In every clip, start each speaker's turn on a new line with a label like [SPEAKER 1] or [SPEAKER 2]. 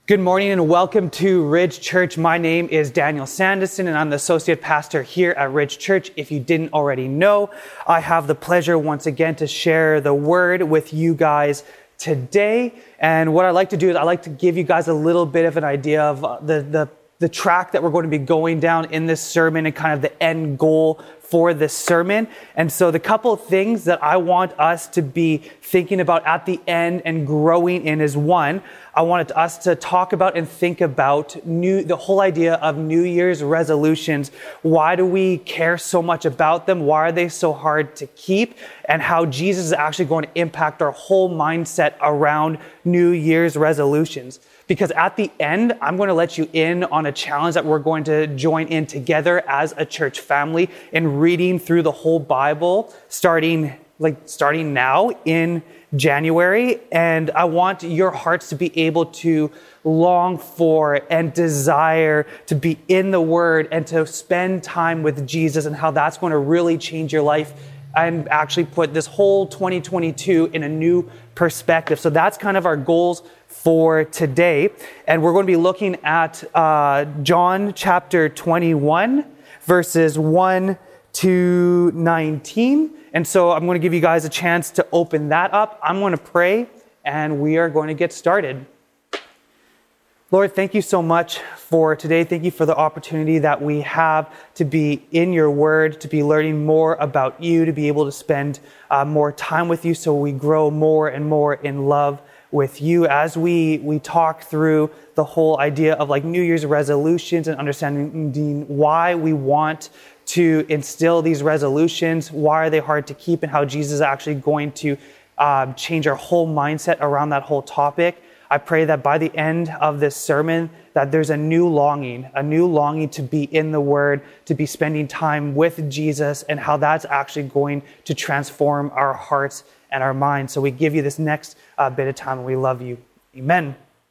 [SPEAKER 1] Good morning and welcome to Ridge Church. My name is Daniel Sanderson and I'm the associate pastor here at Ridge Church. If you didn't already know, I have the pleasure once again to share the word with you guys today. And what I like to do is I like to give you guys a little bit of an idea of the track that we're going to be going down in this sermon and kind of the end goal for this sermon. And so the couple of things that I want us to be thinking about at the end and growing in is one, I wanted us to talk about and think about the whole idea of New Year's resolutions. Why do we care so much about them? Why are they so hard to keep? And how Jesus is actually going to impact our whole mindset around New Year's resolutions. Because at the end, I'm going to let you in on a challenge that we're going to join in together as a church family in reading through the whole Bible, starting now in January. And I want your hearts to be able to long for and desire to be in the Word and to spend time with Jesus, and how that's going to really change your life and actually put this whole 2022 in a new perspective. So that's kind of our goals for today. And we're going to be looking at John chapter 21, verses 1 to 19. And so I'm going to give you guys a chance to open that up. I'm going to pray and we are going to get started. Lord, thank you so much for today. Thank you for the opportunity that we have to be in your word, to be learning more about you, to be able to spend more time with you so we grow more and more in love with you as we talk through the whole idea of like New Year's resolutions and understanding why we want to instill these resolutions, why are they hard to keep, and how Jesus is actually going to change our whole mindset around that whole topic. I pray that by the end of this sermon, that there's a new longing to be in the Word, to be spending time with Jesus, and how that's actually going to transform our hearts and our minds. So we give you this next bit of time, and we love you. Amen.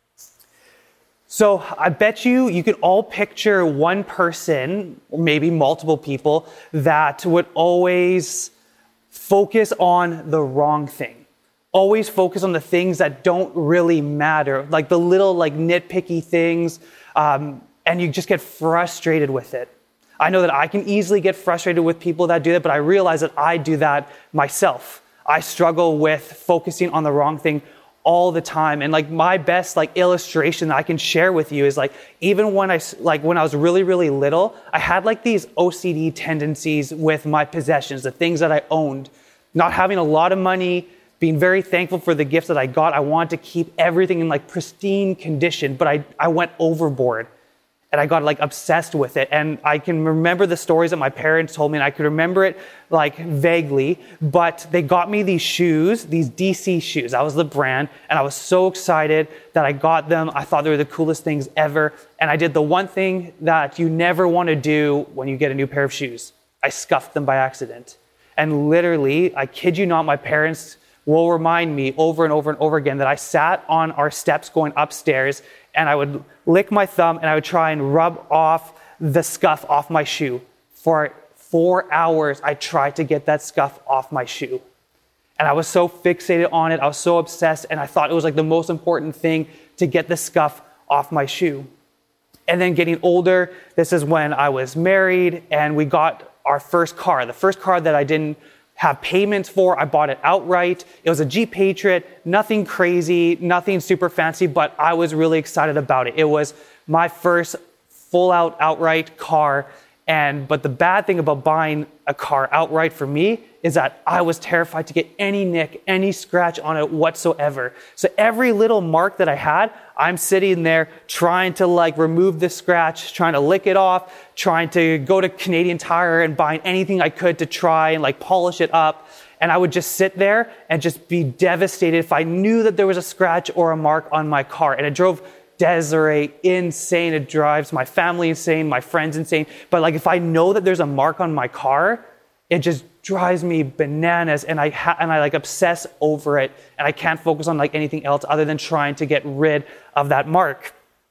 [SPEAKER 1] So I bet you can all picture one person, or maybe multiple people, that would always focus on the wrong thing. Always focus on the things that don't really matter, like the little nitpicky things, and you just get frustrated with it. I know that I can easily get frustrated with people that do that, but I realize that I do that myself. I struggle with focusing on the wrong thing all the time. And my best illustration that I can share with you is even when I was really, really little, I had these OCD tendencies with my possessions, the things that I owned, not having a lot of money, being very thankful for the gifts that I got. I wanted to keep everything in pristine condition, but I went overboard and I got obsessed with it. And I can remember the stories that my parents told me, and I could remember it vaguely, but they got me these shoes, these DC shoes. That was the brand. And I was so excited that I got them. I thought they were the coolest things ever. And I did the one thing that you never want to do when you get a new pair of shoes. I scuffed them by accident. And literally, I kid you not, my parents will remind me over and over and over again that I sat on our steps going upstairs and I would lick my thumb and I would try and rub off the scuff off my shoe. For 4 hours, I tried to get that scuff off my shoe. And I was so fixated on it. I was so obsessed, and I thought it was the most important thing to get the scuff off my shoe. And then getting older, this is when I was married and we got our first car. The first car that I didn't have payments for. I bought it outright. It was a Jeep Patriot, nothing crazy, nothing super fancy, but I was really excited about it. It was my first full-out outright car. But the bad thing about buying a car outright for me is that I was terrified to get any nick, any scratch on it whatsoever. So every little mark that I had, I'm sitting there trying to remove the scratch, trying to lick it off, trying to go to Canadian Tire and buy anything I could to try and polish it up. And I would just sit there and just be devastated if I knew that there was a scratch or a mark on my car. And it drove Desiree insane. It drives my family insane, my friends insane. But if I know that there's a mark on my car, it just drives me bananas, and I obsess over it, and I can't focus on anything else other than trying to get rid of that mark.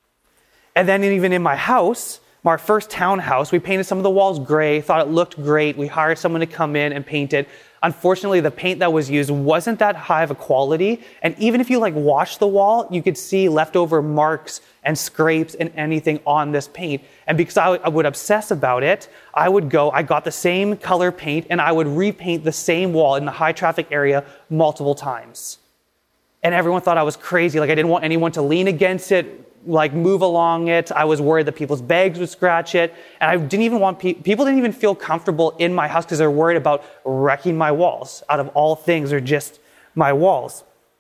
[SPEAKER 1] And then even in my house, my first townhouse, we painted some of the walls gray, thought it looked great. We hired someone to come in and paint it. unfortunately, the paint that was used wasn't that high of a quality. And even if you wash the wall, you could see leftover marks and scrapes and anything on this paint. And because I would obsess about it, I got the same color paint and I would repaint the same wall in the high traffic area multiple times. And everyone thought I was crazy. I didn't want anyone to lean against it, move along it. I was worried that people's bags would scratch it. And I didn't even want people didn't even feel comfortable in my house because they're worried about wrecking my walls. Out of all things, they're just my walls.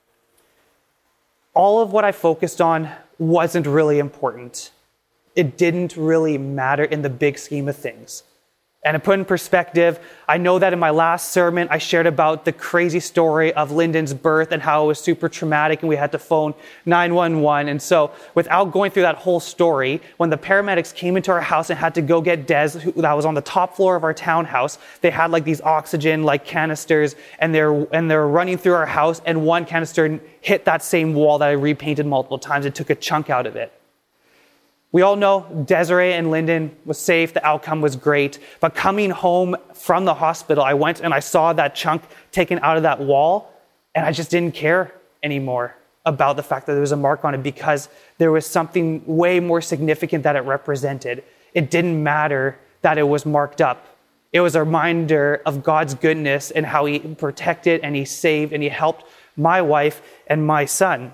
[SPEAKER 1] All of what I focused on wasn't really important. It didn't really matter in the big scheme of things. And to put in perspective, I know that in my last sermon, I shared about the crazy story of Lyndon's birth and how it was super traumatic and we had to phone 911. And so without going through that whole story, when the paramedics came into our house and had to go get Des, that was on the top floor of our townhouse, they had these oxygen canisters and they're running through our house, and one canister hit that same wall that I repainted multiple times. It took a chunk out of it. We all know Desiree and Lyndon was safe. The outcome was great. But coming home from the hospital, I went and I saw that chunk taken out of that wall, and I just didn't care anymore about the fact that there was a mark on it because there was something way more significant that it represented. It didn't matter that it was marked up. It was a reminder of God's goodness and how He protected and He saved and He helped my wife and my son.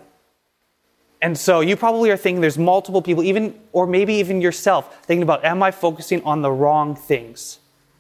[SPEAKER 1] And so you probably are thinking there's multiple people, or maybe even yourself, thinking about, am I focusing on the wrong things?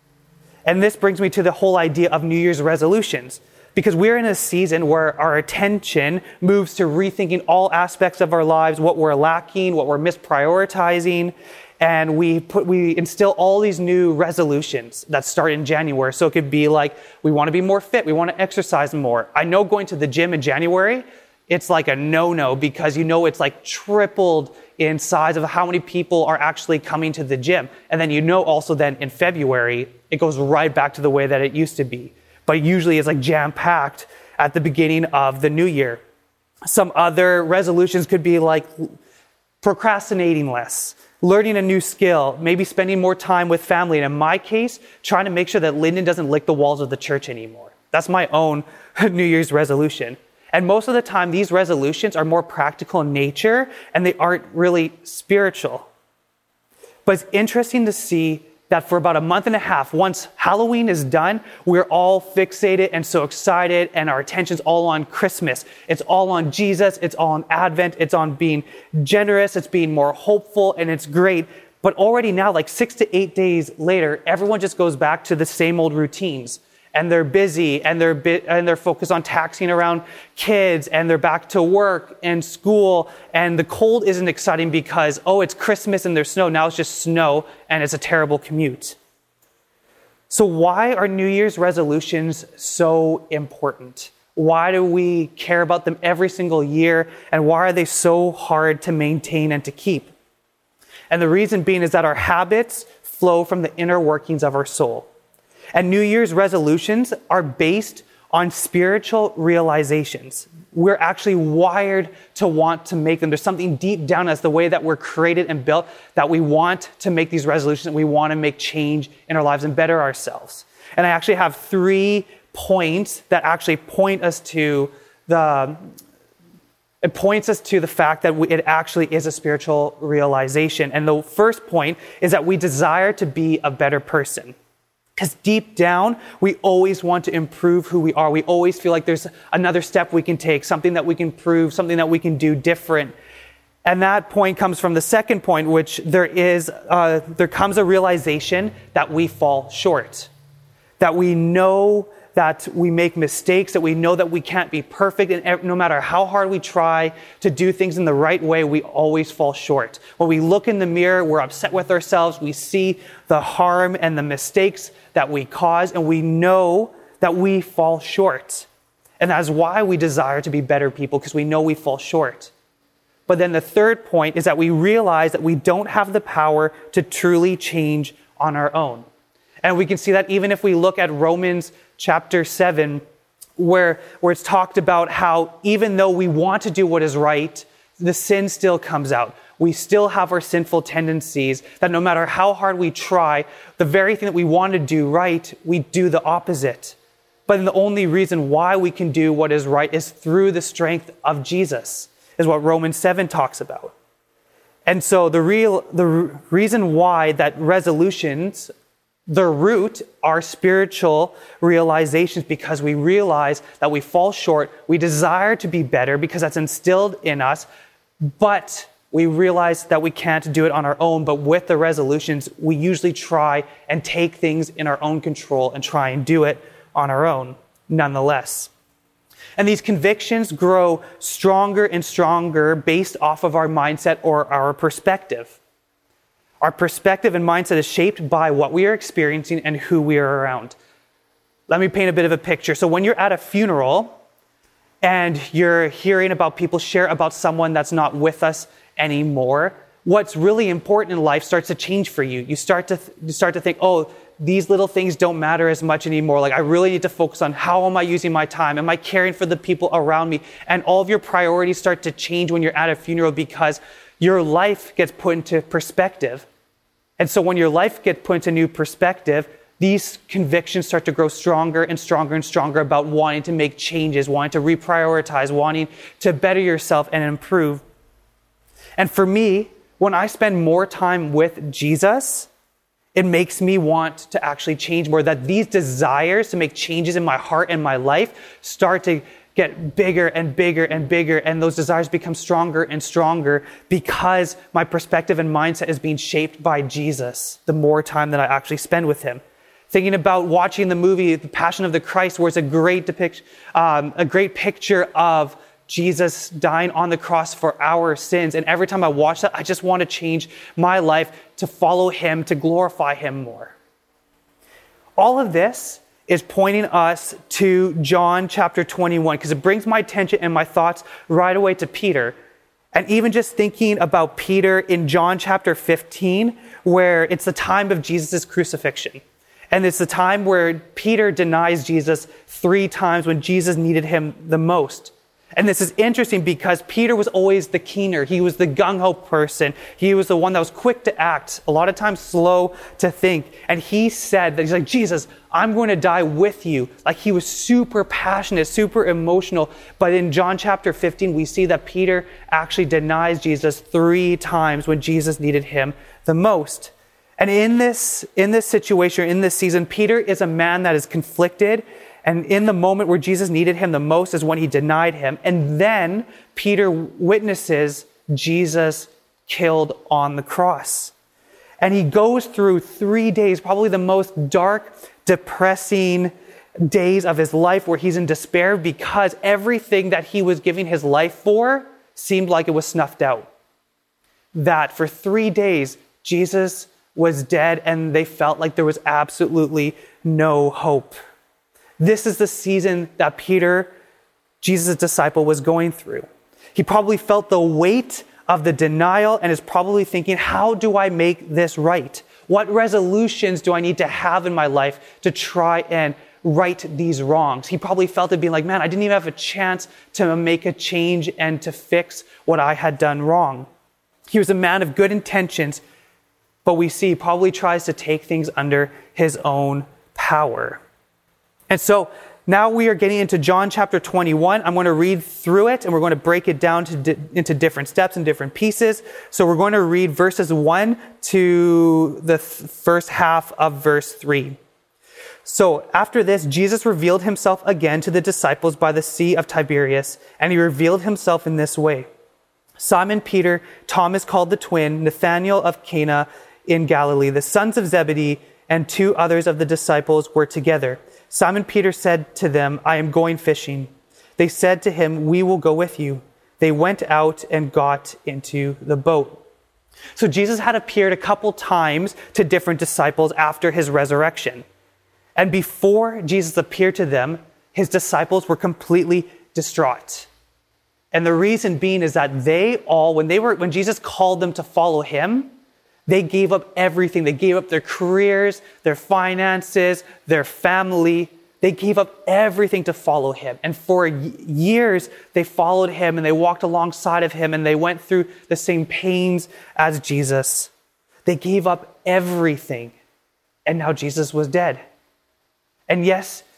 [SPEAKER 1] And this brings me to the whole idea of New Year's resolutions, because we're in a season where our attention moves to rethinking all aspects of our lives, what we're lacking, what we're misprioritizing, and we instill all these new resolutions that start in January. So it could be we want to be more fit, we want to exercise more. I know going to the gym in January, it's a no-no because it's tripled in size of how many people are actually coming to the gym. And then also then in February, it goes right back to the way that it used to be. But usually it's jam-packed at the beginning of the new year. Some other resolutions could be procrastinating less, learning a new skill, maybe spending more time with family. And in my case, trying to make sure that Lyndon doesn't lick the walls of the church anymore. That's my own New Year's resolution. And most of the time, these resolutions are more practical in nature, and they aren't really spiritual. But it's interesting to see that for about a month and a half, once Halloween is done, we're all fixated and so excited, and our attention's all on Christmas. It's all on Jesus. It's all on Advent. It's on being generous. It's being more hopeful, and it's great. But already now, 6 to 8 days later, everyone just goes back to the same old routines. And they're busy, and they're focused on taxiing around kids, and they're back to work and school, and the cold isn't exciting because, it's Christmas and there's snow. Now it's just snow, and it's a terrible commute. So why are New Year's resolutions so important? Why do we care about them every single year, and why are they so hard to maintain and to keep? And the reason being is that our habits flow from the inner workings of our soul. And New Year's resolutions are based on spiritual realizations. We're actually wired to want to make them. There's something deep down us, the way that we're created and built, that we want to make these resolutions, and we want to make change in our lives and better ourselves. And I actually have 3 points that actually point us to the fact that it actually is a spiritual realization. And the first point is that we desire to be a better person. Because deep down, we always want to improve who we are. We always feel like there's another step we can take, something that we can prove, something that we can do different. And that point comes from the second point, which there comes a realization that we fall short. That we know that we make mistakes, that we know that we can't be perfect, and no matter how hard we try to do things in the right way, we always fall short. When we look in the mirror, we're upset with ourselves, we see the harm and the mistakes that we cause, and we know that we fall short. And that is why we desire to be better people, because we know we fall short. But then the third point is that we realize that we don't have the power to truly change on our own. And we can see that even if we look at Romans chapter 7, where it's talked about how even though we want to do what is right, the sin still comes out. We still have our sinful tendencies, that no matter how hard we try, the very thing that we want to do right, we do the opposite. But the only reason why we can do what is right is through the strength of Jesus, is what Romans 7 talks about. And so the reason why that resolutions, the root, are spiritual realizations, because we realize that we fall short, we desire to be better because that's instilled in us, but we realize that we can't do it on our own. But with the resolutions, we usually try and take things in our own control and try and do it on our own, nonetheless. And these convictions grow stronger and stronger based off of our mindset or our perspective. Our perspective and mindset is shaped by what we are experiencing and who we are around. Let me paint a bit of a picture. So when you're at a funeral and you're hearing about people share about someone that's not with us anymore, what's really important in life starts to change for you. You start to think, oh, these little things don't matter as much anymore. Like, I really need to focus on how am I using my time? Am I caring for the people around me? And all of your priorities start to change when you're at a funeral because your life gets put into perspective. And so when your life gets put into new perspective, these convictions start to grow stronger and stronger and stronger about wanting to make changes, wanting to reprioritize, wanting to better yourself and improve. And for me, when I spend more time with Jesus, it makes me want to actually change more, that these desires to make changes in my heart and my life start to get bigger and bigger and bigger, and those desires become stronger and stronger because my perspective and mindset is being shaped by Jesus the more time that I actually spend with him. Thinking about watching the movie The Passion of the Christ, where it's a great picture of Jesus dying on the cross for our sins. And every time I watch that, I just want to change my life to follow him, to glorify him more. All of this is pointing us to John chapter 21, because it brings my attention and my thoughts right away to Peter. And even just thinking about Peter in John chapter 15, where it's the time of Jesus' crucifixion. And it's the time where Peter denies Jesus 3 times when Jesus needed him the most. And this is interesting because Peter was always the keener. He was the gung-ho person. He was the one that was quick to act, a lot of times slow to think. And he said that he's like, Jesus, I'm going to die with you. Like, he was super passionate, super emotional. But in John chapter 15, we see that Peter actually denies Jesus 3 times when Jesus needed him the most. And in this situation, in this season, Peter is a man that is conflicted. And in the moment where Jesus needed him the most is when he denied him. And then Peter witnesses Jesus killed on the cross. And he goes through 3 days, probably the most dark, depressing days of his life, where he's in despair because everything that he was giving his life for seemed like it was snuffed out. That for 3 days, Jesus was dead and they felt like there was absolutely no hope. This is the season that Peter, Jesus' disciple, was going through. He probably felt the weight of the denial and is probably thinking, how do I make this right? What resolutions do I need to have in my life to try and right these wrongs? He probably felt it being like, man, I didn't even have a chance to make a change and to fix what I had done wrong. He was a man of good intentions, but we see he probably tries to take things under his own power. And so now we are getting into John chapter 21. I'm going to read through it and we're going to break it down into different steps and different pieces. So we're going to read verses 1 to the first half of verse 3. So after this, Jesus revealed himself again to the disciples by the Sea of Tiberias, and he revealed himself in this way. Simon Peter, Thomas called the twin, Nathanael of Cana in Galilee, the sons of Zebedee, and 2 others of the disciples were together. Simon Peter said to them, I am going fishing. They said to him, we will go with you. They went out and got into the boat. So Jesus had appeared a couple times to different disciples after his resurrection. And before Jesus appeared to them, his disciples were completely distraught. And the reason being is that they all, when Jesus called them to follow him, they gave up everything. They gave up their careers, their finances, their family. They gave up everything to follow him. And for years, they followed him and they walked alongside of him and they went through the same pains as Jesus. They gave up everything. And now Jesus was dead. And yes,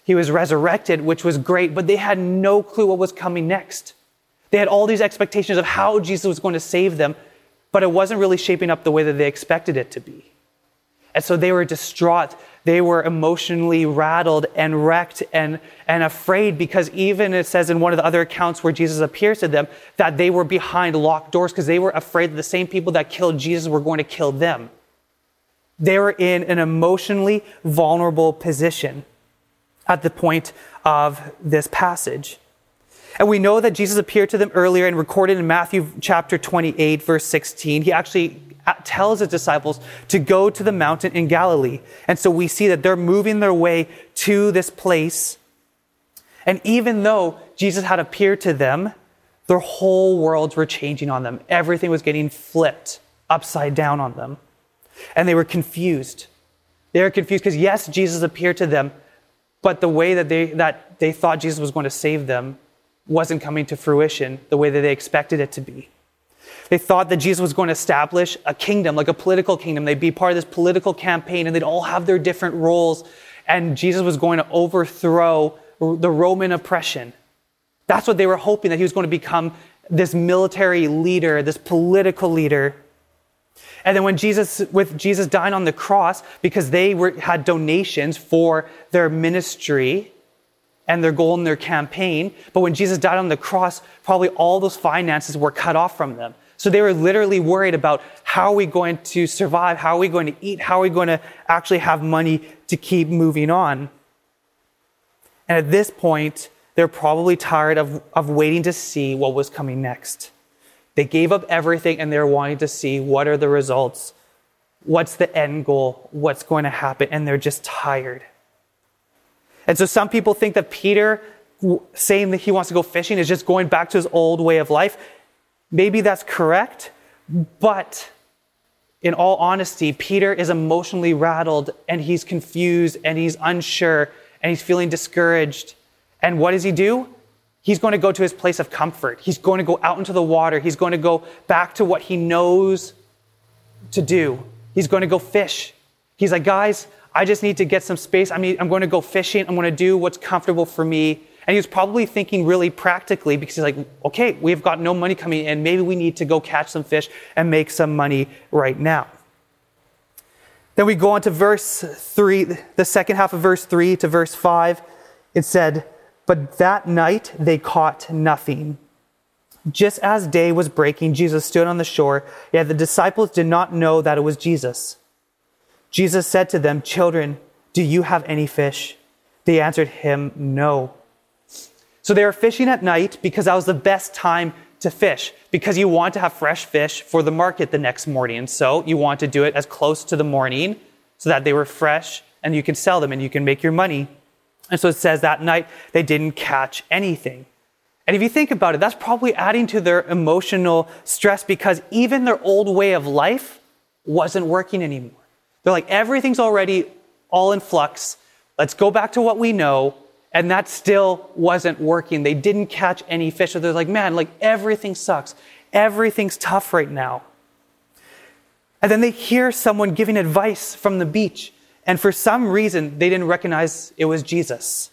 [SPEAKER 1] He was resurrected, which was great, but they had no clue what was coming next. They had all these expectations of how Jesus was going to save them, but it wasn't really shaping up the way that they expected it to be. And so they were distraught. They were emotionally rattled and wrecked and afraid, because even it says in one of the other accounts where Jesus appears to them that they were behind locked doors because they were afraid that the same people that killed Jesus were going to kill them. They were in an emotionally vulnerable position at the point of this passage. And we know that Jesus appeared to them earlier and recorded in Matthew chapter 28, verse 16. He actually tells his disciples to go to the mountain in Galilee. And so we see that they're moving their way to this place. And even though Jesus had appeared to them, their whole worlds were changing on them. Everything was getting flipped upside down on them. And they were confused. They were confused because yes, Jesus appeared to them, but the way that they thought Jesus was going to save them wasn't coming to fruition the way that they expected it to be. They thought that Jesus was going to establish a kingdom, like a political kingdom. They'd be part of this political campaign and they'd all have their different roles. And Jesus was going to overthrow the Roman oppression. That's what they were hoping, that he was going to become this military leader, this political leader. And then with Jesus dying on the cross, because they had donations for their ministry and their goal in their campaign, but when Jesus died on the cross, probably all those finances were cut off from them. So they were literally worried about, how are we going to survive? How are we going to eat? How are we going to actually have money to keep moving on? And at this point, they're probably tired of waiting to see what was coming next. They gave up everything and they're wanting to see what are the results, what's the end goal, what's going to happen, and they're just tired. And so some people think that Peter saying that he wants to go fishing is just going back to his old way of life. Maybe that's correct, but in all honesty, Peter is emotionally rattled and he's confused and he's unsure and he's feeling discouraged. And what does he do? He's going to go to his place of comfort. He's going to go out into the water. He's going to go back to what he knows to do. He's going to go fish. He's like, guys, I just need to get some space. I'm going to go fishing. I'm going to do what's comfortable for me. And he was probably thinking really practically, because he's like, okay, we've got no money coming in. Maybe we need to go catch some fish and make some money right now. Then we go on to verse 3, the second half of verse 3 to verse 5. It said, "But that night they caught nothing. Just as day was breaking, Jesus stood on the shore, yet the disciples did not know that it was Jesus. Jesus said to them, 'Children, do you have any fish?' They answered him, 'No.'" So they were fishing at night because that was the best time to fish, because you want to have fresh fish for the market the next morning. And so you want to do it as close to the morning so that they were fresh and you can sell them and you can make your money. And so it says that night they didn't catch anything. And if you think about it, that's probably adding to their emotional stress, because even their old way of life wasn't working anymore. They're like, everything's already all in flux. Let's go back to what we know. And that still wasn't working. They didn't catch any fish. So they're like, man, like everything sucks. Everything's tough right now. And then they hear someone giving advice from the beach. And for some reason, they didn't recognize it was Jesus.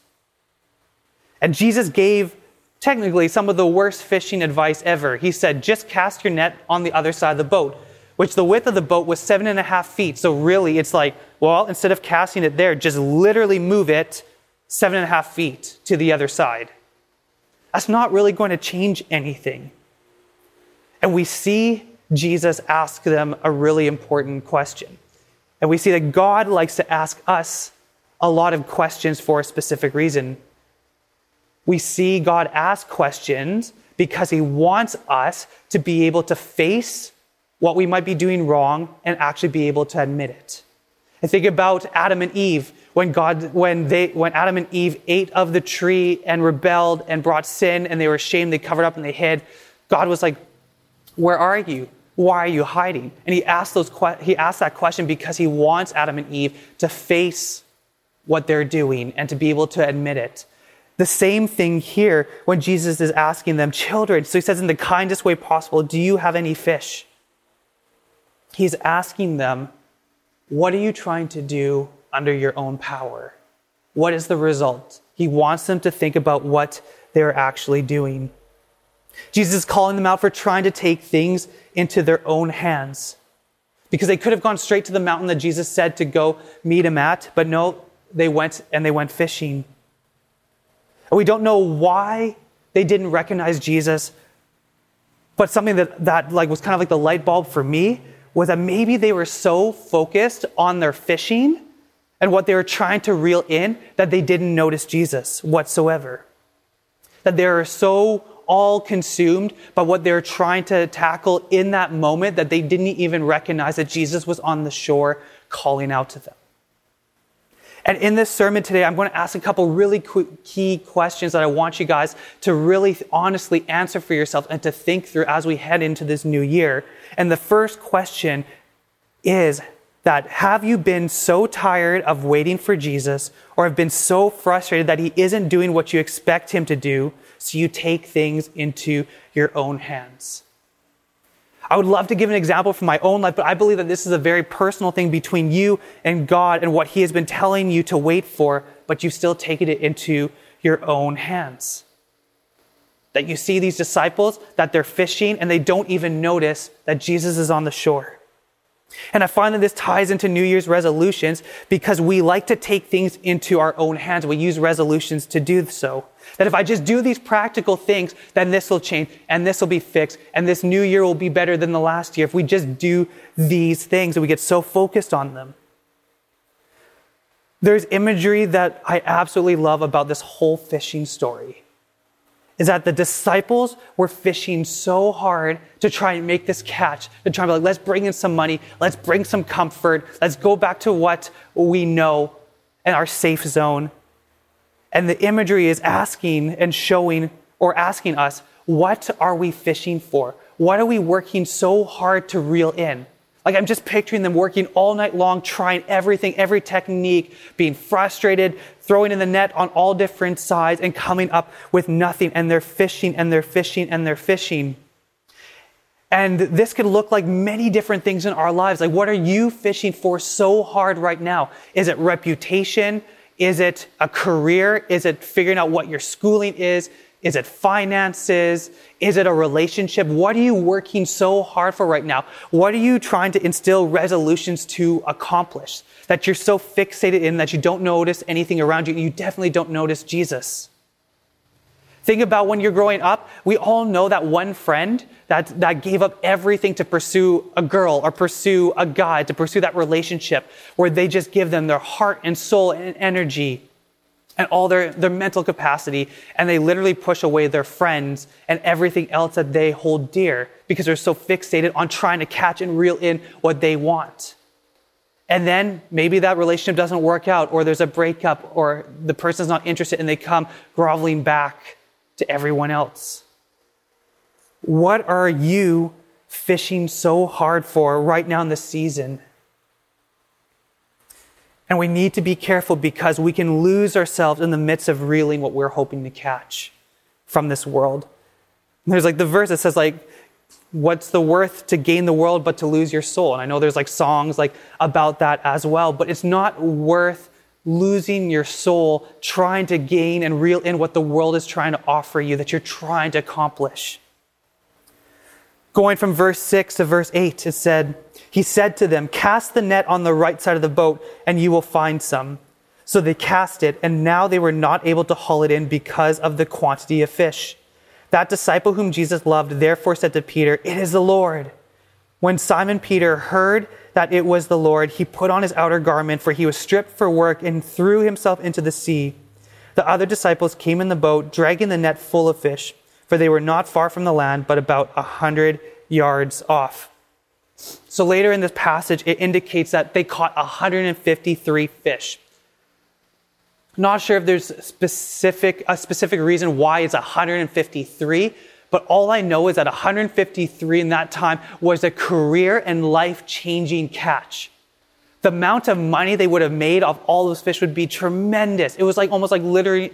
[SPEAKER 1] And Jesus gave technically some of the worst fishing advice ever. He said, just cast your net on the other side of the boat, which the width of the boat was 7.5 feet. So really it's like, well, instead of casting it there, just literally move it 7.5 feet to the other side. That's not really going to change anything. And we see Jesus ask them a really important question. And we see that God likes to ask us a lot of questions for a specific reason. We see God ask questions because he wants us to be able to face what we might be doing wrong and actually be able to admit it. And think about Adam and Eve. When Adam and Eve ate of the tree and rebelled and brought sin and they were ashamed, they covered up and they hid, God was like, where are you? Why are you hiding? And he asked that question because he wants Adam and Eve to face what they're doing and to be able to admit it. The same thing here when Jesus is asking them, children, so he says in the kindest way possible, do you have any fish? He's asking them, what are you trying to do under your own power? what is the result? He wants them to think about what they're actually doing. Jesus is calling them out for trying to take things into their own hands. Because they could have gone straight to the mountain that Jesus said to go meet him at, but no, they went fishing. And we don't know why they didn't recognize Jesus, but something that was kind of like the light bulb for me was that maybe they were so focused on their fishing and what they were trying to reel in that they didn't notice Jesus whatsoever. That they were so all consumed by what they were trying to tackle in that moment that they didn't even recognize that Jesus was on the shore calling out to them. And in this sermon today, I'm going to ask a couple really key questions that I want you guys to really honestly answer for yourself and to think through as we head into this new year. And the first question is that, have you been so tired of waiting for Jesus, or have been so frustrated that he isn't doing what you expect him to do, so you take things into your own hands? I would love to give an example from my own life, but I believe that this is a very personal thing between you and God and what he has been telling you to wait for, but you still take it into your own hands. That you see these disciples, that they're fishing and they don't even notice that Jesus is on the shore. And I find that this ties into New Year's resolutions because we like to take things into our own hands. We use resolutions to do so. That if I just do these practical things, then this will change and this will be fixed and this new year will be better than the last year. If we just do these things and we get so focused on them. There's imagery that I absolutely love about this whole fishing story. Is that the disciples were fishing so hard to try and make this catch, to try and be like, let's bring in some money, let's bring some comfort, let's go back to what we know and our safe zone. And the imagery is asking and showing or asking us, what are we fishing for? What are we working so hard to reel in? Like, I'm just picturing them working all night long, trying everything, every technique, being frustrated, throwing in the net on all different sides and coming up with nothing. And they're fishing and they're fishing and they're fishing. And this could look like many different things in our lives. Like, what are you fishing for so hard right now? Is it reputation? Is it a career? Is it figuring out what your schooling is? Is it finances? Is it a relationship? What are you working so hard for right now? What are you trying to instill resolutions to accomplish? That you're so fixated in that you don't notice anything around you. You definitely don't notice Jesus. Think about when you're growing up. We all know that one friend that gave up everything to pursue a girl or pursue a guy, to pursue that relationship where they just give them their heart and soul and energy and all their mental capacity, and they literally push away their friends and everything else that they hold dear because they're so fixated on trying to catch and reel in what they want. And then maybe that relationship doesn't work out, or there's a breakup, or the person's not interested and they come groveling back to everyone else. What are you fishing so hard for right now in this season? And we need to be careful because we can lose ourselves in the midst of reeling what we're hoping to catch from this world. And there's like the verse that says like, what's the worth to gain the world but to lose your soul? And I know there's like songs like about that as well, but it's not worth losing your soul trying to gain and reel in what the world is trying to offer you, that you're trying to accomplish. Going from verse 6 to verse 8, it said, he said to them, cast the net on the right side of the boat and you will find some. So they cast it, and now they were not able to haul it in because of the quantity of fish. That disciple whom Jesus loved therefore said to Peter, it is the Lord. When Simon Peter heard that it was the Lord, he put on his outer garment, for he was stripped for work, and threw himself into the sea. The other disciples came in the boat, dragging the net full of fish, for they were not far from the land, but about 100 yards off. So later in this passage, it indicates that they caught 153 fish. Not sure if there's a specific reason why it's 153, but all I know is that 153 in that time was a career and life-changing catch. The amount of money they would have made off all those fish would be tremendous. It was like almost like literally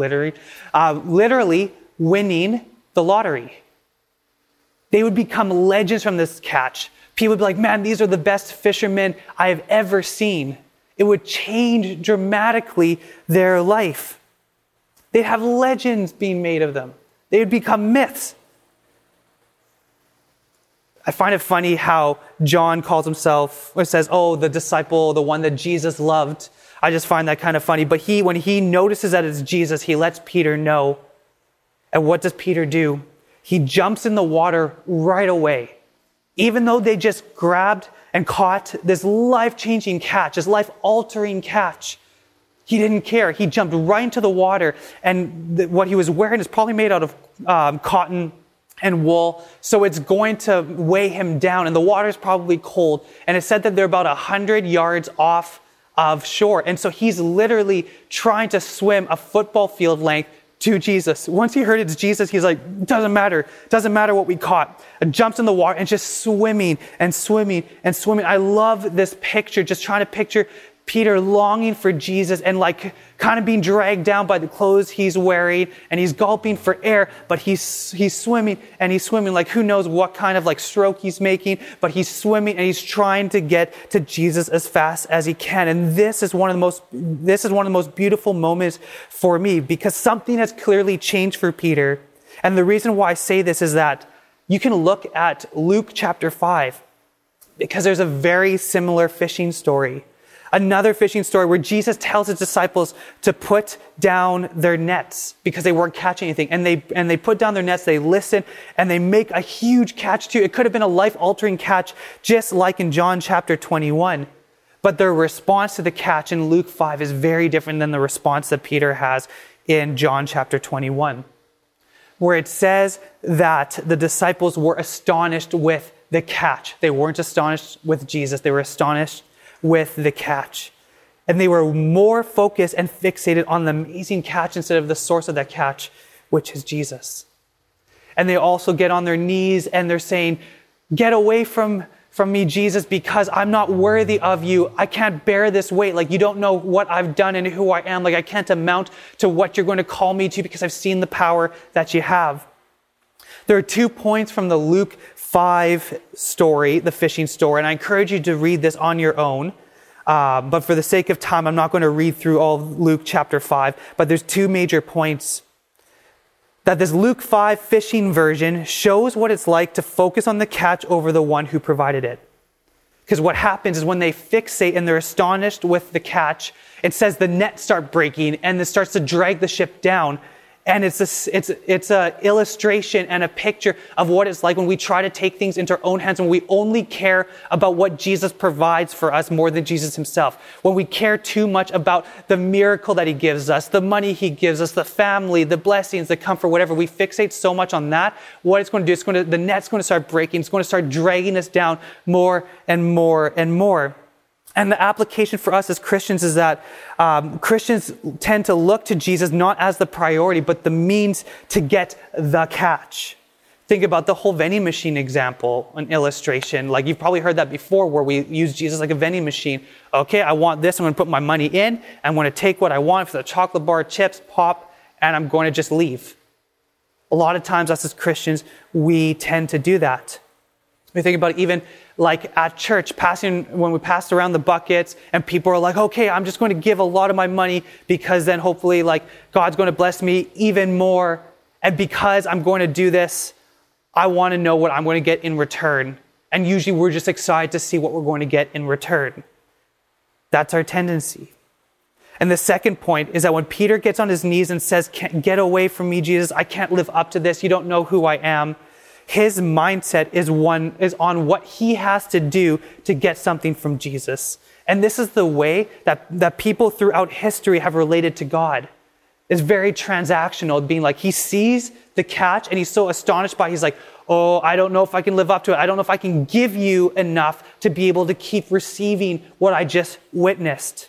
[SPEAKER 1] winning the lottery. They would become legends from this catch. People would be like, man, these are the best fishermen I have ever seen. It would change dramatically their life. They'd have legends being made of them. They would become myths. I find it funny how John calls himself, or says, oh, the disciple, the one that Jesus loved. I just find that kind of funny. But when he notices that it's Jesus, he lets Peter know. And what does Peter do? He jumps in the water right away. Even though they just grabbed and caught this life-changing catch, this life-altering catch, he didn't care. He jumped right into the water. And what he was wearing is probably made out of cotton and wool, so it's going to weigh him down, and the water's probably cold. And it said that they're about 100 yards off of shore. And so he's literally trying to swim a football field length to Jesus. Once he heard it's Jesus, he's like, doesn't matter what we caught. And jumps in the water and just swimming and swimming and swimming. I love this picture, just trying to picture Peter longing for Jesus and like kind of being dragged down by the clothes he's wearing, and he's gulping for air, but he's swimming and he's swimming like who knows what kind of like stroke he's making, but he's swimming and he's trying to get to Jesus as fast as he can. And this is one of the most beautiful moments for me, because something has clearly changed for Peter. And the reason why I say this is that you can look at Luke chapter 5, because there's a very similar fishing story. Another fishing story where Jesus tells his disciples to put down their nets because they weren't catching anything. And they put down their nets, they listen, and they make a huge catch too. It could have been a life-altering catch, just like in John chapter 21. But their response to the catch in Luke 5 is very different than the response that Peter has in John chapter 21, where it says that the disciples were astonished with the catch. They weren't astonished with Jesus. They were astonished with the catch. And they were more focused and fixated on the amazing catch instead of the source of that catch, which is Jesus. And they also get on their knees and they're saying, get away from me, Jesus, because I'm not worthy of you. I can't bear this weight. Like, you don't know what I've done and who I am. Like, I can't amount to what you're going to call me to because I've seen the power that you have. There are 2 points from the Luke 5 story, the fishing story, and I encourage you to read this on your own. But for the sake of time, I'm not going to read through all of Luke chapter 5, but there's 2 major points. That this Luke 5 fishing version shows what it's like to focus on the catch over the one who provided it. Because what happens is when they fixate and they're astonished with the catch, it says the nets start breaking and it starts to drag the ship down. And it's a illustration and a picture of what it's like when we try to take things into our own hands, when we only care about what Jesus provides for us more than Jesus himself. When we care too much about the miracle that he gives us, the money he gives us, the family, the blessings, the comfort, whatever. We fixate so much on that. What it's going to do, the net's going to start breaking. It's going to start dragging us down more and more and more. And the application for us as Christians is that Christians tend to look to Jesus not as the priority, but the means to get the catch. Think about the whole vending machine example, an illustration. Like, you've probably heard that before, where we use Jesus like a vending machine. Okay, I want this. I'm going to put my money in. I'm going to take what I want for the chocolate bar, chips, pop, and I'm going to just leave. A lot of times, us as Christians, we tend to do that. We think about it even like at church, when we passed around the buckets and people are like, okay, I'm just going to give a lot of my money because then hopefully like God's going to bless me even more. And because I'm going to do this, I want to know what I'm going to get in return. And usually we're just excited to see what we're going to get in return. That's our tendency. And the second point is that when Peter gets on his knees and says, get away from me, Jesus, I can't live up to this. You don't know who I am. His mindset is on what he has to do to get something from Jesus. And this is the way that people throughout history have related to God. It's very transactional, being like, he sees the catch and he's so astonished by it. He's like, oh, I don't know if I can live up to it. I don't know if I can give you enough to be able to keep receiving what I just witnessed.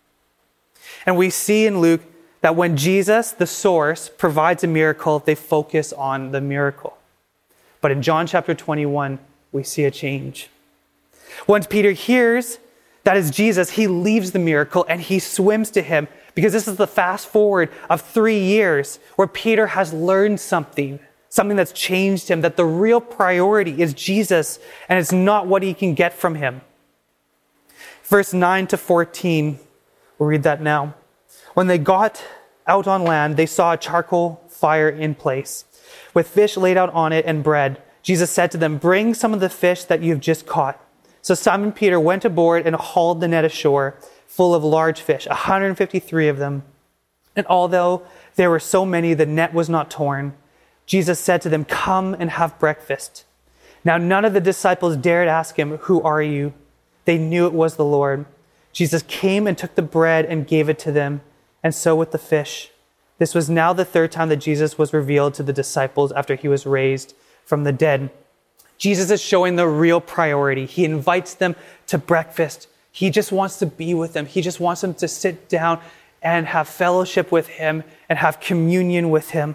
[SPEAKER 1] And we see in Luke that when Jesus, the source, provides a miracle, they focus on the miracle. But in John chapter 21, we see a change. Once Peter hears that is Jesus, he leaves the miracle and he swims to him, because this is the fast forward of 3 years where Peter has learned something that's changed him, that the real priority is Jesus and it's not what he can get from him. Verse 9 to 14, we'll read that now. When they got out on land, they saw a charcoal fire in place, with fish laid out on it and bread. Jesus said to them, "Bring some of the fish that you've just caught." So Simon Peter went aboard and hauled the net ashore, full of large fish, 153 of them. And although there were so many, the net was not torn. Jesus said to them, "Come and have breakfast." Now none of the disciples dared ask him, "Who are you?" They knew it was the Lord. Jesus came and took the bread and gave it to them, and so with the fish. This was now the third time that Jesus was revealed to the disciples after he was raised from the dead. Jesus is showing the real priority. He invites them to breakfast. He just wants to be with them. He just wants them to sit down and have fellowship with him and have communion with him.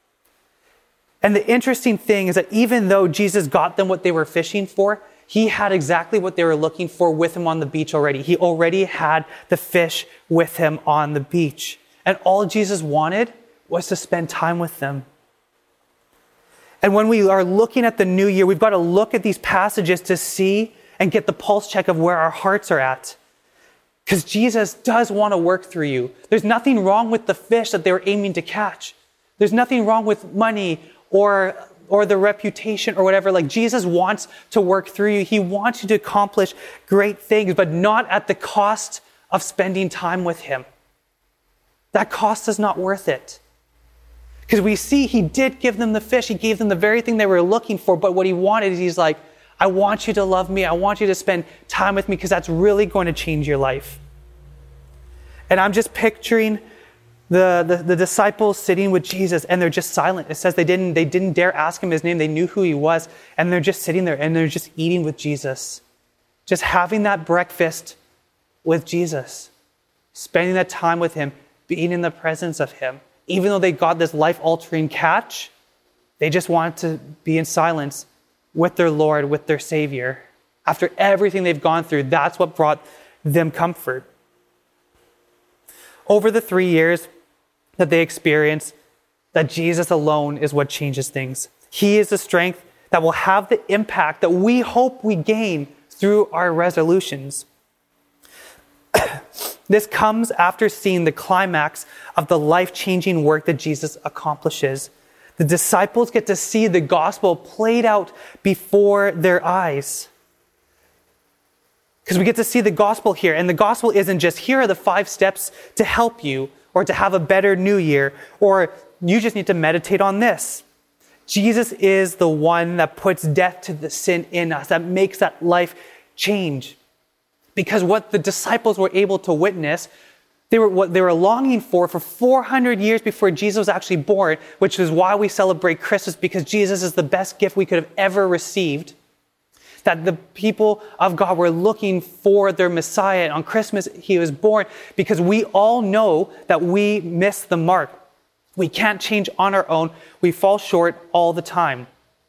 [SPEAKER 1] And the interesting thing is that even though Jesus got them what they were fishing for, he had exactly what they were looking for with him on the beach already. He already had the fish with him on the beach. And all Jesus wanted was to spend time with them. And when we are looking at the new year, we've got to look at these passages to see and get the pulse check of where our hearts are at. Because Jesus does want to work through you. There's nothing wrong with the fish that they were aiming to catch. There's nothing wrong with money or the reputation or whatever. Like, Jesus wants to work through you. He wants you to accomplish great things, but not at the cost of spending time with him. That cost is not worth it. Because we see he did give them the fish. He gave them the very thing they were looking for. But what he wanted is he's like, I want you to love me. I want you to spend time with me because that's really going to change your life. And I'm just picturing the disciples sitting with Jesus and they're just silent. It says they didn't dare ask him his name. They knew who he was. And they're just sitting there and they're just eating with Jesus. Just having that breakfast with Jesus. Spending that time with him. Being in the presence of him. Even though they got this life-altering catch, they just wanted to be in silence with their Lord, with their Savior. After everything they've gone through, that's what brought them comfort. Over the 3 years that they experienced, that Jesus alone is what changes things. He is the strength that will have the impact that we hope we gain through our resolutions. This comes after seeing the climax of the life-changing work that Jesus accomplishes. The disciples get to see the gospel played out before their eyes. Because we get to see the gospel here. And the gospel isn't just, here are the 5 steps to help you, or to have a better new year, or you just need to meditate on this. Jesus is the one that puts death to the sin in us, that makes that life change. Because what the disciples were able to witness, what they were longing for 400 years before Jesus was actually born, which is why we celebrate Christmas, because Jesus is the best gift we could have ever received. That the people of God were looking for their Messiah. And on Christmas, he was born, because we all know that we miss the mark. We can't change on our own. We fall short all the time.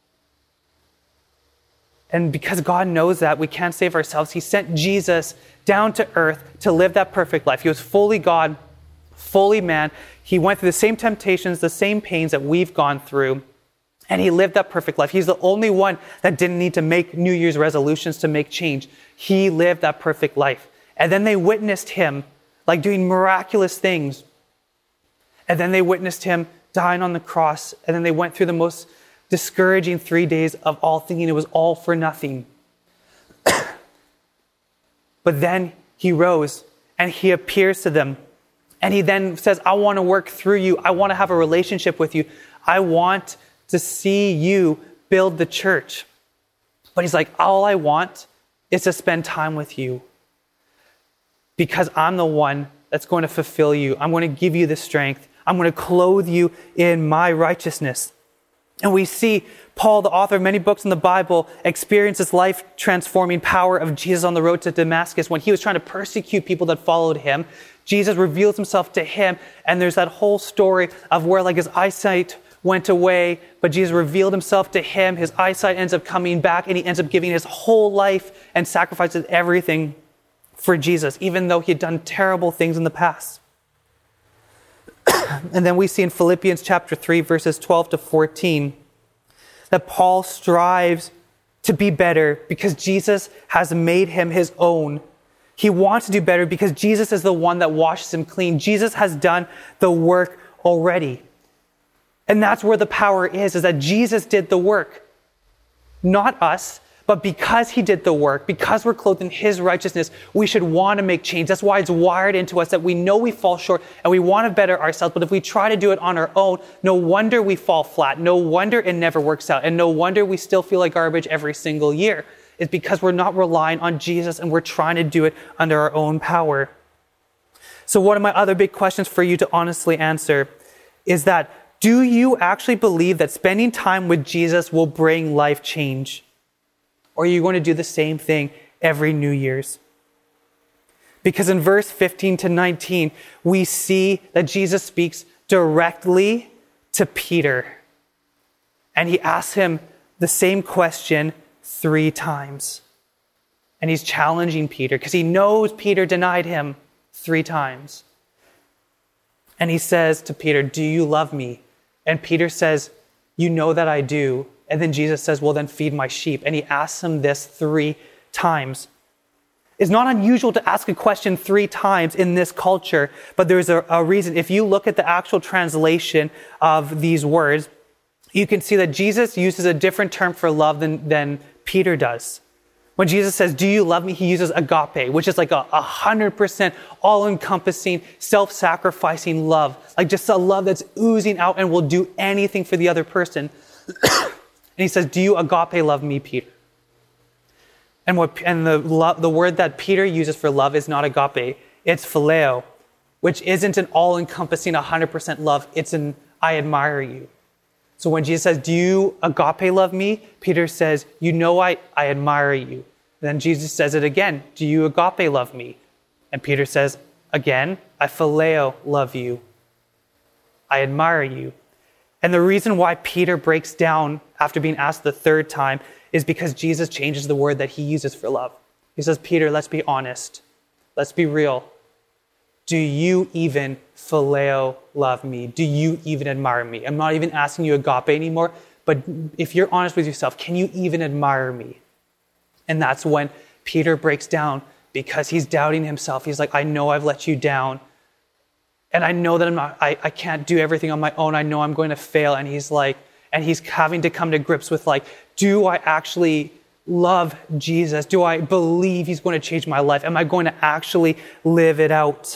[SPEAKER 1] And because God knows that we can't save ourselves, he sent Jesus down to earth to live that perfect life. He was fully God, fully man. He went through the same temptations, the same pains that we've gone through. And he lived that perfect life. He's the only one that didn't need to make New Year's resolutions to make change. He lived that perfect life. And then they witnessed him like doing miraculous things. And then they witnessed him dying on the cross. And then they went through the most discouraging 3 days of all, thinking it was all for nothing. But then he rose and he appears to them. And he then says, I want to work through you. I want to have a relationship with you. I want to see you build the church. But he's like, all I want is to spend time with you. Because I'm the one that's going to fulfill you. I'm going to give you the strength. I'm going to clothe you in my righteousness. And we see Paul, the author of many books in the Bible, experience this life-transforming power of Jesus on the road to Damascus. When he was trying to persecute people that followed him, Jesus reveals himself to him. And there's that whole story of where his eyesight went away, but Jesus revealed himself to him. His eyesight ends up coming back, and he ends up giving his whole life and sacrifices everything for Jesus, even though he had done terrible things in the past. And then we see in Philippians chapter 3, verses 12 to 14, that Paul strives to be better because Jesus has made him his own. He wants to do better because Jesus is the one that washes him clean. Jesus has done the work already. And that's where the power is that Jesus did the work. Not us, but because he did the work, because we're clothed in his righteousness, we should want to make change. That's why it's wired into us that we know we fall short and we want to better ourselves. But if we try to do it on our own, no wonder we fall flat. No wonder it never works out. And no wonder we still feel like garbage every single year. It's because we're not relying on Jesus and we're trying to do it under our own power. So one of my other big questions for you to honestly answer is that, do you actually believe that spending time with Jesus will bring life change? Or are you going to do the same thing every New Year's? Because in verse 15 to 19, we see that Jesus speaks directly to Peter. And he asks him the same question 3 times. And he's challenging Peter because he knows Peter denied him 3 times. And he says to Peter, "Do you love me?" And Peter says, "You know that I do." And then Jesus says, "Well, then feed my sheep." And he asks him this 3 times. It's not unusual to ask a question 3 times in this culture, but there's a reason. If you look at the actual translation of these words, you can see that Jesus uses a different term for love than Peter does. When Jesus says, "Do you love me?" he uses agape, which is like a 100% all-encompassing, self-sacrificing love. Like just a love that's oozing out and will do anything for the other person. And he says, "Do you agape love me, Peter?" And the word that Peter uses for love is not agape. It's phileo, which isn't an all-encompassing 100% love. It's an "I admire you." So when Jesus says, "Do you agape love me?" Peter says, "You know I admire you." And then Jesus says it again, "Do you agape love me?" And Peter says again, "I phileo love you. I admire you." And the reason why Peter breaks down after being asked the 3rd time is because Jesus changes the word that he uses for love. He says, "Peter, let's be honest. Let's be real. Do you even phileo love me? Do you even admire me?" I'm not even asking you agape anymore, but if you're honest with yourself, can you even admire me? And that's when Peter breaks down because he's doubting himself. He's like, "I know I've let you down. And I know that I can't do everything on my own. I know I'm going to fail." And he's having to come to grips with like, do I actually love Jesus? Do I believe he's going to change my life? Am I going to actually live it out?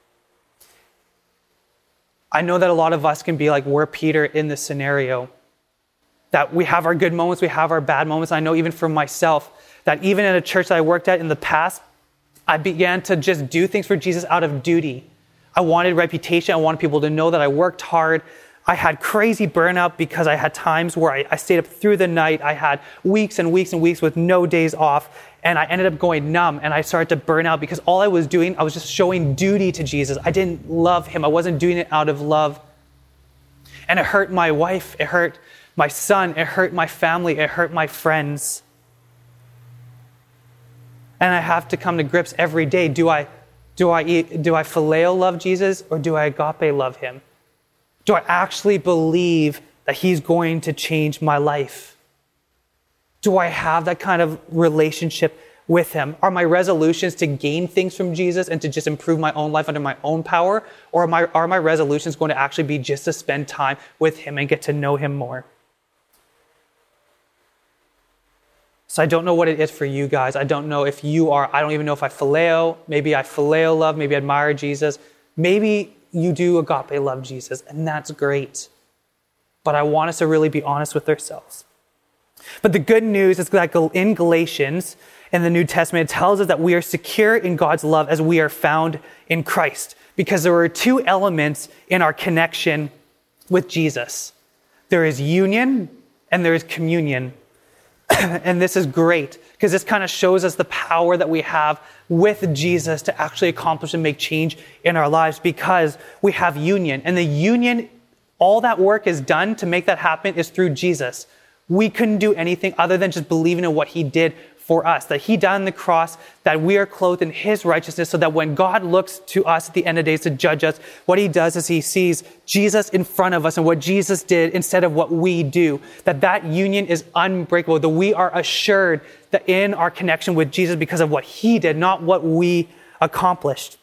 [SPEAKER 1] I know that a lot of us can be like, we're Peter in this scenario. That we have our good moments, we have our bad moments. I know even for myself, that even in a church that I worked at in the past, I began to just do things for Jesus out of duty. I wanted reputation. I wanted people to know that I worked hard. I had crazy burnout because I had times where I stayed up through the night. I had weeks and weeks and weeks with no days off. And I ended up going numb and I started to burn out because all I was doing, I was just showing duty to Jesus. I didn't love him. I wasn't doing it out of love. And it hurt my wife. It hurt my son. It hurt my family. It hurt my friends. And I have to come to grips every day. Do I phileo love Jesus or do I agape love him? Do I actually believe that he's going to change my life? Do I have that kind of relationship with him? Are my resolutions to gain things from Jesus and to just improve my own life under my own power? Or are my resolutions going to actually be just to spend time with him and get to know him more? So I don't know what it is for you guys. I don't know if you are, I don't even know if I phileo. Maybe I phileo love, maybe I admire Jesus. Maybe you do agape love Jesus, and that's great. But I want us to really be honest with ourselves. But the good news is that in Galatians, in the New Testament, it tells us that we are secure in God's love as we are found in Christ. Because there are 2 elements in our connection with Jesus. There is union and there is communion. And this is great because this kind of shows us the power that we have with Jesus to actually accomplish and make change in our lives because we have union. And the union, all that work is done to make that happen is through Jesus. We couldn't do anything other than just believing in what he did for us, that he died on the cross, that we are clothed in his righteousness, so that when God looks to us at the end of days to judge us, what he does is he sees Jesus in front of us and what Jesus did instead of what we do, that union is unbreakable, that we are assured that in our connection with Jesus because of what he did, not what we accomplished.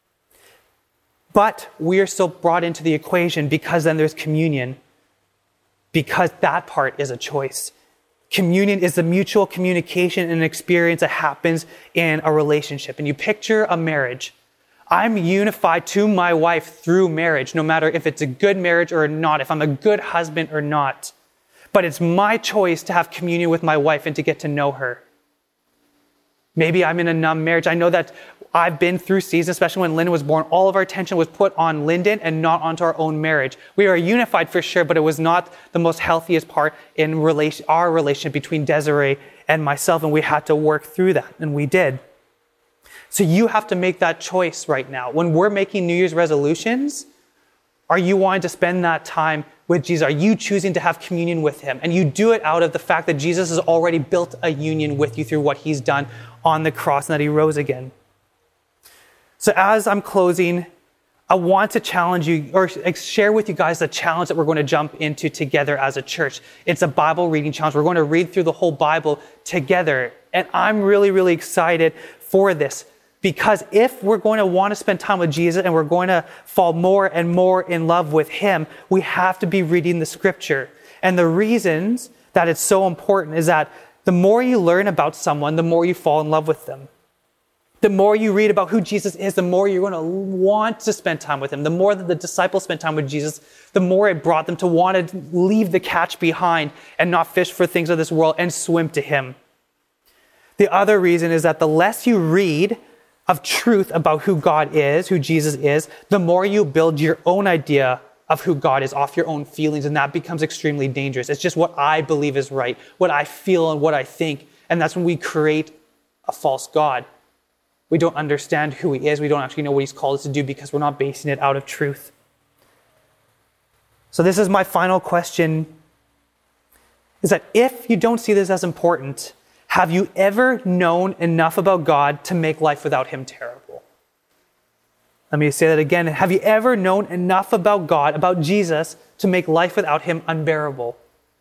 [SPEAKER 1] But we are still brought into the equation because then there's communion, because that part is a choice. Communion is the mutual communication and experience that happens in a relationship. And you picture a marriage. I'm unified to my wife through marriage, no matter if it's a good marriage or not, if I'm a good husband or not. But it's my choice to have communion with my wife and to get to know her. Maybe I'm in a numb marriage. I know that I've been through seasons, especially when Lyndon was born, all of our attention was put on Lyndon and not onto our own marriage. We are unified for sure, but it was not the most healthiest part in our relationship between Desiree and myself, and we had to work through that, and we did. So you have to make that choice right now. When we're making New Year's resolutions, are you wanting to spend that time with Jesus? Are you choosing to have communion with him? And you do it out of the fact that Jesus has already built a union with you through what he's done on the cross and that he rose again. So as I'm closing, I want to challenge you or share with you guys the challenge that we're going to jump into together as a church. It's a Bible reading challenge. We're going to read through the whole Bible together. And I'm really, really excited for this because if we're going to want to spend time with Jesus and we're going to fall more and more in love with him, we have to be reading the scripture. And the reasons that it's so important is that the more you learn about someone, the more you fall in love with them. The more you read about who Jesus is, the more you're going to want to spend time with him. The more that the disciples spent time with Jesus, the more it brought them to want to leave the catch behind and not fish for things of this world and swim to him. The other reason is that the less you read of truth about who God is, who Jesus is, the more you build your own idea of who God is off your own feelings, and that becomes extremely dangerous. It's just what I believe is right, what I feel and what I think, and that's when we create a false God. We don't understand who he is. We don't actually know what he's called us to do because we're not basing it out of truth. So this is my final question, is that if you don't see this as important, have you ever known enough about God to make life without him terrible? Let me say that again. Have you ever known enough about God, about Jesus, to make life without him unbearable?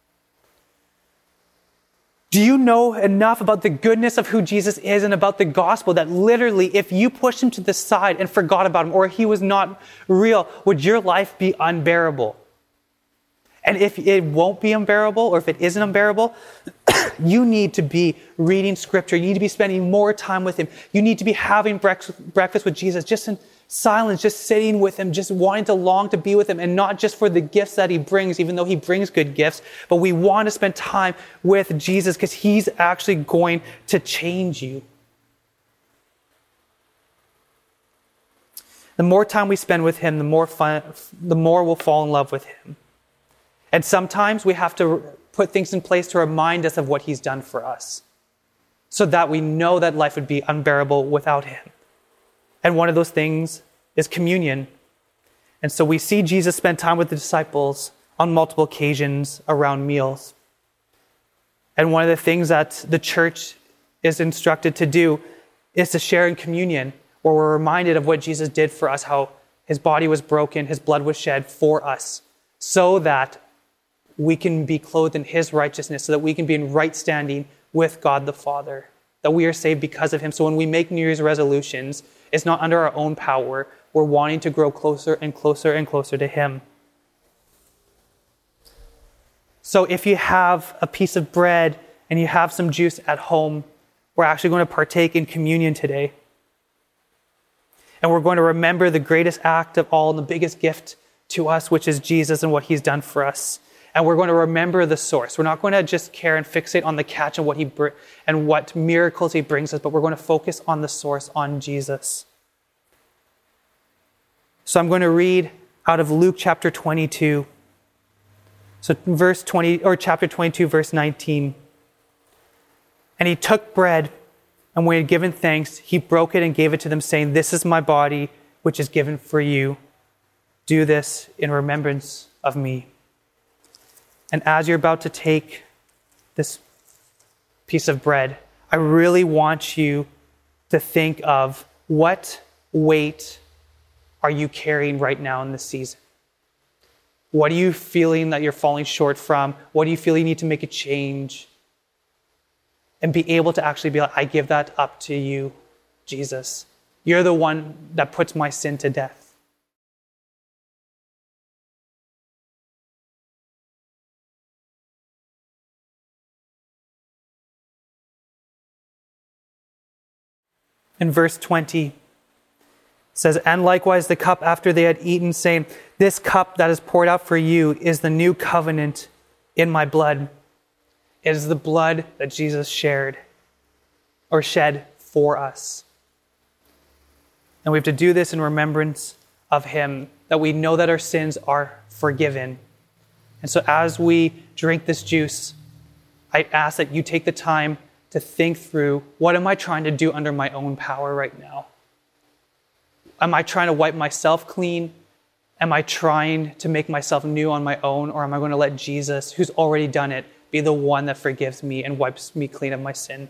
[SPEAKER 1] Do you know enough about the goodness of who Jesus is and about the gospel that literally if you pushed him to the side and forgot about him or he was not real, would your life be unbearable? And if it won't be unbearable or if it isn't unbearable, you need to be reading scripture. You need to be spending more time with him. You need to be having breakfast with Jesus just in silence, just sitting with him, just wanting to long to be with him, and not just for the gifts that he brings, even though he brings good gifts, but we want to spend time with Jesus because he's actually going to change you. The more time we spend with him, the more we'll fall in love with him. And sometimes we have to put things in place to remind us of what he's done for us, so that we know that life would be unbearable without him. And one of those things is communion. And so we see Jesus spend time with the disciples on multiple occasions around meals. And one of the things that the church is instructed to do is to share in communion, where we're reminded of what Jesus did for us, how his body was broken, his blood was shed for us, so that we can be clothed in his righteousness, so that we can be in right standing with God the Father, that we are saved because of him. So when we make New Year's resolutions, it's not under our own power. We're wanting to grow closer and closer and closer to him. So if you have a piece of bread and you have some juice at home, we're actually going to partake in communion today. And we're going to remember the greatest act of all and the biggest gift to us, which is Jesus and what he's done for us. And we're going to remember the source. We're not going to just care and fixate on the catch and what miracles he brings us, but we're going to focus on the source, on Jesus. So I'm going to read out of Luke chapter 22. So chapter 22, verse 19. And he took bread, and when he had given thanks, he broke it and gave it to them, saying, "This is my body, which is given for you. Do this in remembrance of me." And as you're about to take this piece of bread, I really want you to think of what weight are you carrying right now in this season? What are you feeling that you're falling short from? What do you feel you need to make a change? And be able to actually be like, I give that up to you, Jesus. You're the one that puts my sin to death. In verse 20, it says, and likewise the cup after they had eaten, saying, this cup that is poured out for you is the new covenant in my blood. It is the blood that Jesus shed for us. And we have to do this in remembrance of him, that we know that our sins are forgiven. And so as we drink this juice, I ask that you take the time to think through, what am I trying to do under my own power right now? Am I trying to wipe myself clean? Am I trying to make myself new on my own? Or am I going to let Jesus, who's already done it, be the one that forgives me and wipes me clean of my sin?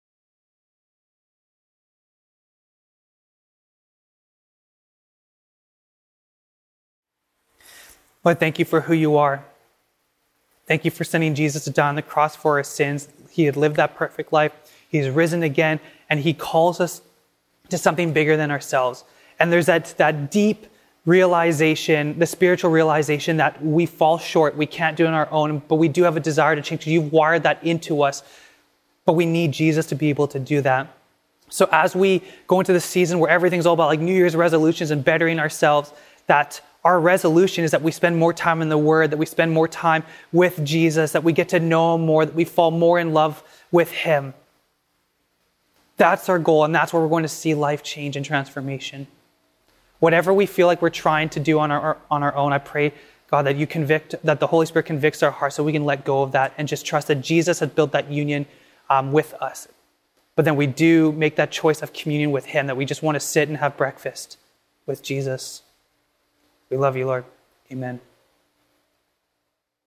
[SPEAKER 1] Lord, thank you for who you are. Thank you for sending Jesus to die on the cross for our sins. He had lived that perfect life. He's risen again, and he calls us to something bigger than ourselves. And there's that deep realization, the spiritual realization that we fall short. We can't do it on our own, but we do have a desire to change. You've wired that into us, but we need Jesus to be able to do that. So as we go into the season where everything's all about like New Year's resolutions and bettering ourselves, that our resolution is that we spend more time in the Word, that we spend more time with Jesus, that we get to know him more, that we fall more in love with him. That's our goal, and that's where we're going to see life change and transformation. Whatever we feel like we're trying to do on our own, I pray, God, that the Holy Spirit convicts our hearts so we can let go of that and just trust that Jesus has built that union with us. But then we do make that choice of communion with him, that we just want to sit and have breakfast with Jesus. We love you, Lord. Amen.